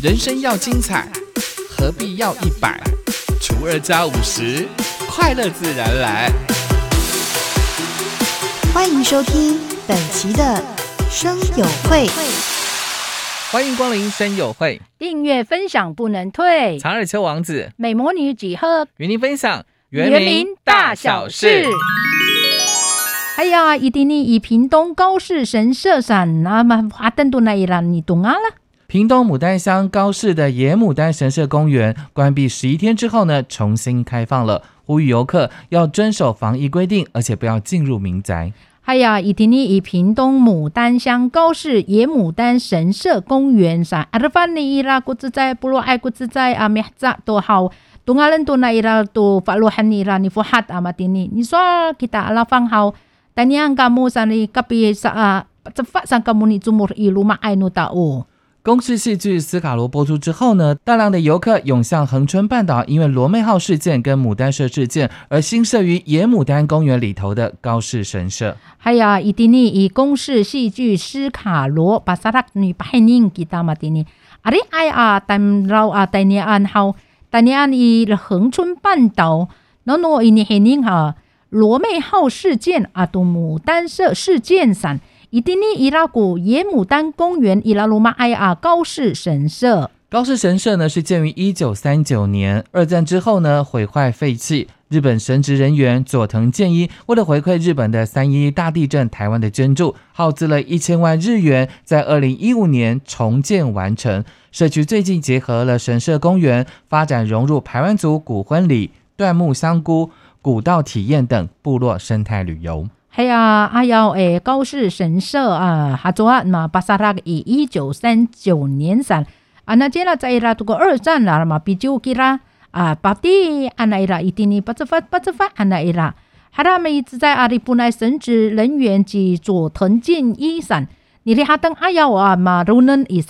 人生要精彩，何必要100？除2加50，快乐自然来。 欢迎收听本期的声友会， 欢迎光临声友会， 订阅分享不能退。 长耳丘王子美魔女几何与您分享原名大小事。哎呀，一定以屏东高士神社上那么花灯都那一让你懂啊了。 屏东牡丹乡高士的野牡丹神社公园关闭11天之后呢，重新开放了，呼吁游客要遵守防疫规定，而且不要进入民宅。 哎呀，一定以屏东牡丹乡高士野牡丹神社公园上阿拉凡尼伊拉古自在部落爱古自在啊咩子都好。Tungalan tu na ira tu fakluhan ira ni fuhat amatini. Ni soal kita alafang hau tanyang kamu sani kapi sa cepat sang kamu ni jumur i rumah ainu tau。 公视戏剧《斯卡罗》播出之后呢，大量的游客涌向恒春半岛，因为罗妹号事件跟牡丹社事件而新设于野牡丹公园里头的高士神社。 哎呀，一定以公视戏剧《斯卡罗》巴萨拉女白宁kita matini。阿里哎啊，但老啊，但你安好。Tanyaan i恒春半岛 nono ini hening ha 罗妹号事件atau牡丹社事件上 itini iraku 野牡丹公园 ilaluma ia 高士神社。 高士神社呢是建于1939年，二战之后呢毁坏废弃。日本神职人员佐藤健一为了回馈日本的311大地震台湾的捐助，耗资了1000万日元，在2015年重建完成。社区最近结合了神社公园，发展融入排湾族古婚礼、椴木香菇、古道体验等部落生态旅游。 哎呀，高士神社啊，哈做啊嘛，巴萨拉以1939年上啊，那接了在啦这个二战啦嘛，比较给啦啊，巴蒂安那伊拉一定呢，巴兹发安那伊拉，哈他们一直在阿里布奈神职人员及佐藤健一上，你的哈登阿耀啊嘛，如能以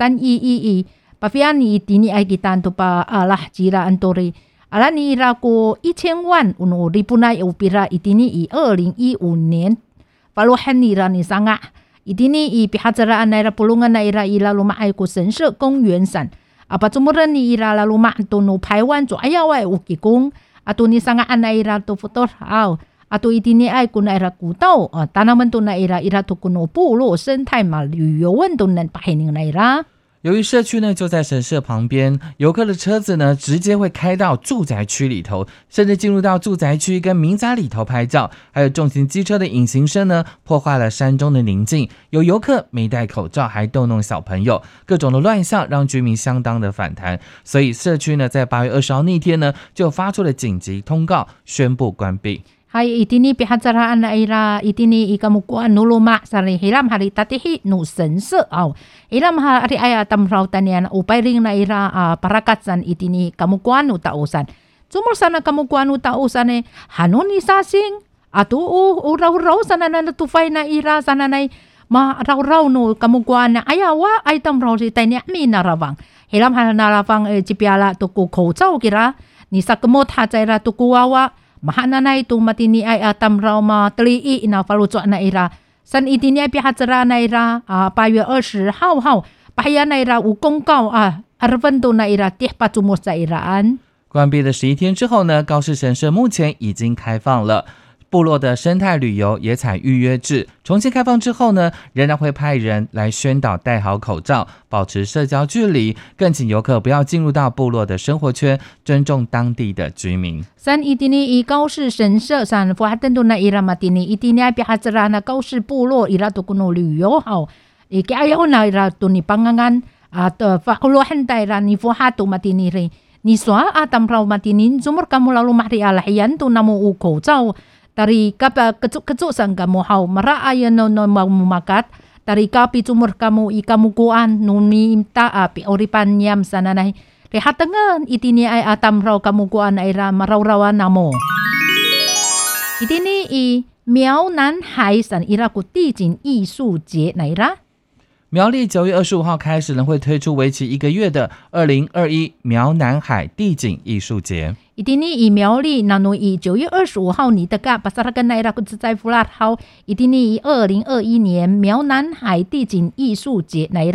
3111。Pavian ni itini ay kitan to pa alah jira antori. Ala ni ira ko 1000万 uno ripunay upira itini i 2015年 paluhan ni ira ni sanga. Itini i pihatsaraan na ira pulungan na ira ila lumaay ko 神社公园上. Apa sumuran ni ira la lumaan to no Paiwan so ayaw ay ukikong. Ato ni sangaan na ira to fotor aw. Ato itini ay ko na ira kutaw. Tanaman to na ira to kuno pulo 生态嘛旅游运动能pahining na ira. 由于社区呢就在神社旁边，游客的车子呢直接会开到住宅区里头，甚至进入到住宅区跟民宅里头拍照，还有重型机车的引擎声呢破坏了山中的宁静，有游客没戴口罩还逗弄小朋友，各种的乱象让居民相当的反弹，所以社区呢在8月20号那天呢就发出了紧急通告，宣布关闭。 Hay itini pihatsaraan na ira itini ikamukuan nuluma sari hilam hari tatihi nu 神社 aw hilam hari aya tamraw tanian upay ring na ira parakatsan itini kamukuan nu tausan sumur sana kamukuan nu tausan hanuni sasing atu uraw sana na tufay na ira sana nay ma raw no kamukuan na ayawa ay tamraw si tanya mi narawang hilam narawang jipiala tuku khouchao kira ni sakmot hajaira tukuwawa mahana na ito matini ay atamraw ma tli'i na falucho na ira san itini ay pihatsara na ira 8月20号bahaya na ira 无公告arvando na ira tihpa tumor sa iraan。 关闭了11天之后呢，高士神社目前已经开放了。部落的生态旅游也采预约制，重新开放之后呢，仍然会派人来宣导戴好口罩，保持社交距离，更请游客不要进入到部落的生活圈，尊重当地的居民。 三itini i 高士神社上发登都那伊拉马蒂尼itini ay pihatsara na 高士部落伊拉都kuno旅游好，iayaw na ira to ni pangangan at fakuluhan tayo ni fuhato matini rin ni swa atamraw matinin sumur kamu lalu mahri alahiyan to namu uko zao Tari kapa kecuk-kecuk sang kamu hau maraayan no makat tari kapi cumur kamu ikamukuan nuni imta api oripan yam sananay rehatangan itini ay atamraw kamukuan ay marawrawan namo itini i 苗南海san ira ku 地景艺术节 na ira 苗栗9月25号开始呢，会推出为期1个月的2021苗南海地景艺术节。 Itini i 苗栗 nano i 9月25号你的个巴萨拉根奈拉库自在弗拉号 Itini i 2021年苗南海地景艺术节奈拉。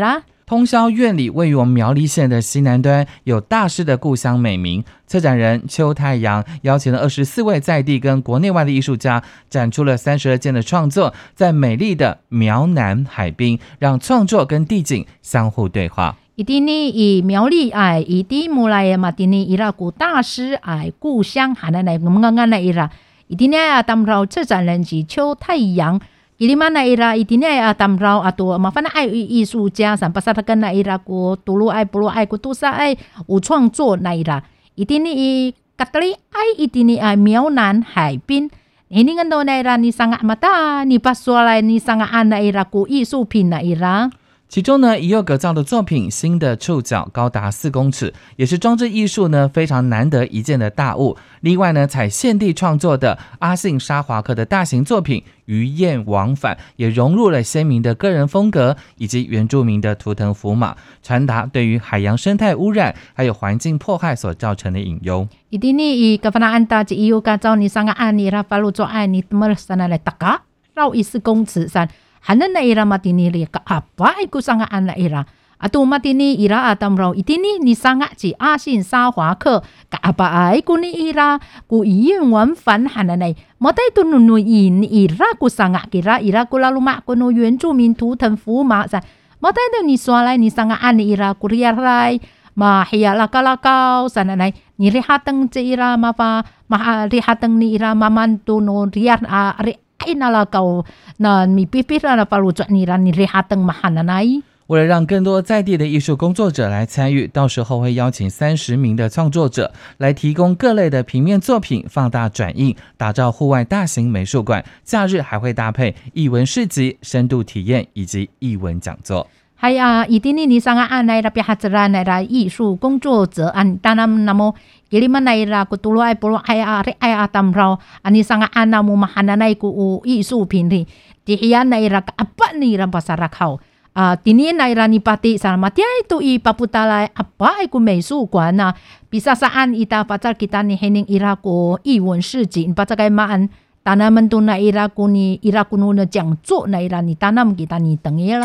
通霄院里位于我们苗栗县的西南端，有大师的故乡美名。策展人邱太阳邀请了24位在地跟国内外的艺术家，展出了32件的创作，在美丽的苗南海滨，让创作跟地景相互对话。 一定呢，以苗栗爱一定木来嘛，定呢伊拉古大师爱故乡，还能来我们刚刚那伊拉，一定呢啊，当然策展人是邱太阳。伊mana na ira itine atamrau atau mafana ai 艺术家san pasal kan na ira ku tulu ai pulu ai ku tusa ai 有创作那 ira itine i katli ai itine ai 苗南海滨 ini kan do na ira ni sangat mata ni pasualai ni sangat ana ira ku 艺术品那 ira。 其中呢，已有葛造的作品《新的触角》高达4公尺，也是装置艺术呢非常难得一见的大物。另外呢，采现地创作的阿信沙华克的大型作品《鱼雁往返》，也融入了鲜明的个人风格以及原住民的图腾符码，传达对于海洋生态污染还有环境迫害所造成的隐忧。 Ini i kafana anta ci iu ka zau ni sangat ani ra falu zo ai ni temer sana le taka rau 14公尺san hanan na ira matini li ka apa iku sangat ana ira atau matini ira atam rau itini ni sangat ci 阿信沙华克 ka apa ai ku ni ira ku iun wan fan hanan ai matai tu nu in ira ku sangat kira ira ku lalu mak ku no 原住民图腾符码 san matai tu ni sualai ni sangat ani ira ku riarai ma hiya lakau sana nai ni rihateng ci ira ma pa ma rihateng ni ira mamantu no riat a inalakau na mi pipira na palu ni ran ni rihateng mahananai。 为了让更多在地的艺术工作者来参与，到时候会邀请30名的创作者来提供各类的平面作品放大转印，打造户外大型美术馆。假日还会搭配艺文市集、深度体验以及艺文讲座。 还啊，一定你sangat anai ra pihak na ra 艺术工作者an tanam namo kiliman na ra kutulu ai polo ai ari ai atamrau ani sangat anamu mahananai ku 艺术品里dihian na ra apa ni ra pasarakau tini na ra ni pati sama dia itu i paputala apa ai ku 美术馆呐 bisa saan ita pacar kita ni hening ira ku 艺文市集 pacar kai maan tanaman tu na ira ku ni ira ku no 讲座 na ira ni tanam kita ni tengi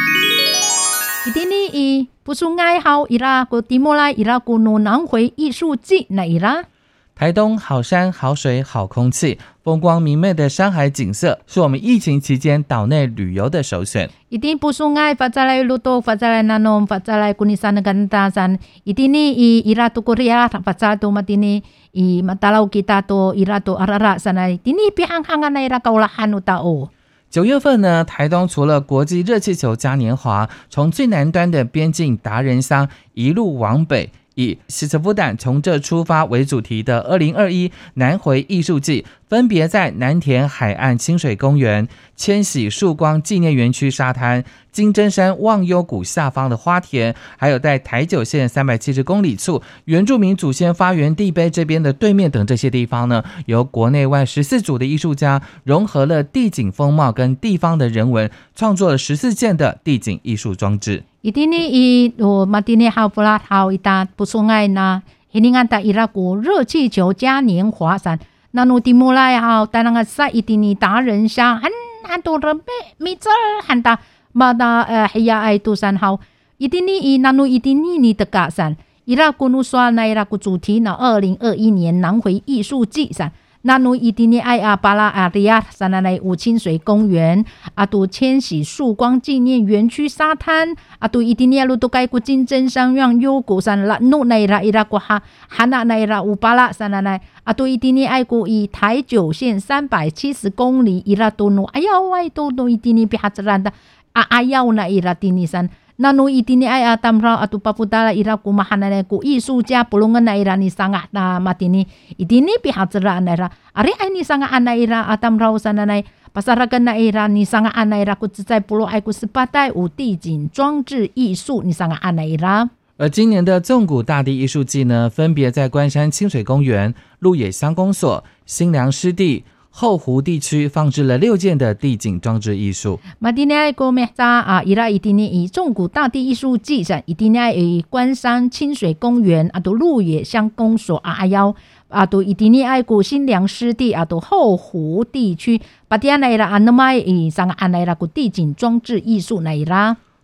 lah。Itini i pusungai hau ira ku timulai ira ku no 南回艺术季那 ira。 台东好山好水好空气，风光明媚的山海景色是我们疫情期间岛内旅游的首选。 Itini pusungai fazalai luto fazalai nanom fazalai kunisan gantasan itini i ira tu korea fazal tu matini i matalau kita tu ira tu arara sana itini pihang-hangan na ira kaulahan utao。 9月份呢，台东除了国际热气球嘉年华，从最南端的边境达人乡一路往北，以西斯夫丹从这出发为主题的2021南回艺术季，分别在南田海岸清水公园、千禧曙光纪念园区沙滩、金针山忘忧谷下方的花田，还有在台九线370公里处原住民祖先发源地碑这边的对面等这些地方呢，由国内外14组的艺术家融合了地景风貌跟地方的人文，创作了14件的地景艺术装置。 Itini i matini hau pulat hau ita pusungai na hiningan ta ira ku 热气球嘉年华san nanu dimulai hau tanangan sa itini 达人乡 han to rempe mitzer hanta mada hiya ai tu san hau itini i nanu itini ni teka san ira ku nu soal na ira ku 主题na 2021年南回艺术季san nanu itini ai apala area sana nai 五清水公园 atu 千禧曙光纪念园区沙滩 atu itini alu to kai ku 金针山让优谷san la nu nai ra ira ku ha hana nai ra upala sana nai atu itini ai ku i 台九线370公里 ira to no ayaw ai to no itini pihatranda ayaw na ira tinisan nanu itini ai atamra atu paputala ira ku mahanane ku 艺术家 pulungan na ira ni sangat na matini itini pihatra na ira ari ai ni sangat ana ira atamra sana nai pasarakan na ira ni sangat ana ira ku 在pulau ai ku sepatai 五地景装置艺术 ni sangat ana ira。 而今年的纵谷大地艺术季呢，分别在关山清水公园、鹿野乡公所、新良湿地、后湖地区放置了6件的地景装置艺术。 Madinai ko mehta ira itini i 纵谷大地艺术季上 itini i 关山清水公园 atau 鹿野乡公所 ayaw atau itini ai ku 新良湿地 atau 后湖地区 patian ira anamai i sangat anaira ku 地景装置艺术 naira。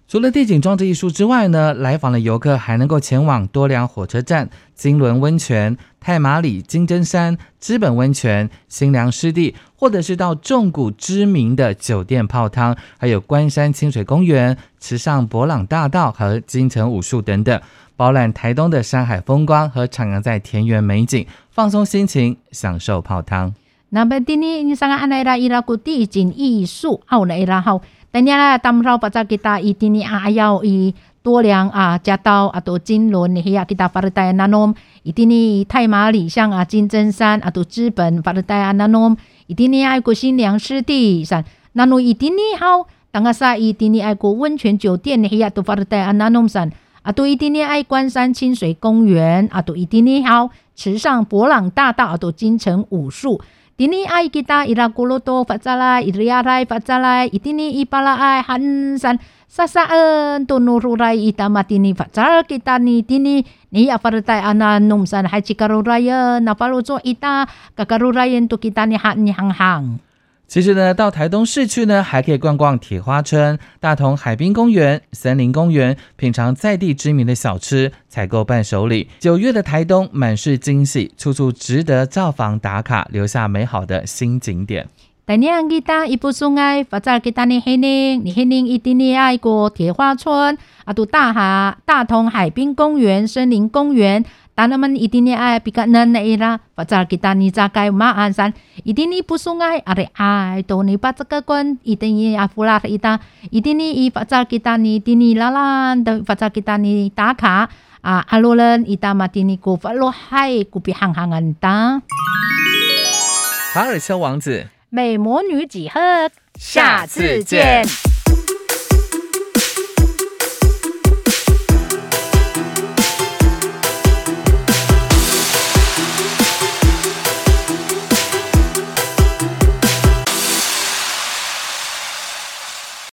除了地景装置艺术之外呢，来访的游客还能够前往多良火车站、金轮温泉、太麻里金针山、知本温泉、新良湿地，或者是到纵谷知名的酒店泡汤，还有关山清水公园、池上博朗大道和金城武术等等，饱览台东的山海风光和徜徉在田园美景，放松心情，享受泡汤。 那么今天你上安来啦，伊拉古地景艺术，好来啦好。等下啦，他们说把kita ini ayau i多良加到atau金轮ni ya kita partai nanom ini 太麻里像金针山atau知本 partai nanom ini ai ko 新良湿地山 nano ini hau tangga sa ini ai ko 温泉酒店ni ya to partai nanom san atau ini ai 关山清水公园 atau ini hau 池上博朗大道 atau 金城武术Dini ay kita irakuloto fatzalay iriaray fatzalay itini ipalaay hansan sasaan tunururay itamatini fatzal kita ni tini ni afartay ananumsan hay chikarurayan napaluso ita kakarurayan to kita ni hanghang。 其实呢，到台东市区呢，还可以逛逛铁花村、大同海滨公园、森林公园，品尝在地知名的小吃，采购伴手礼。9月的台东满是惊喜，处处值得造访打卡，留下美好的新景点。 Tanyang kita ibu sungai, fajar kita ni Hening itini ay ko 铁花村，大同海滨公园、森林公园。Tanaman itini ay pikanan na ira fajar kita ni zakay maasan itini pusungay are ay to ni patsakakon itini afular ita itini i fajar kita ni tini lalan fajar kita ni taka alolan ita matini ko falohai kupi hanghangan ta 卡尔丘王子美魔女几何，下次见。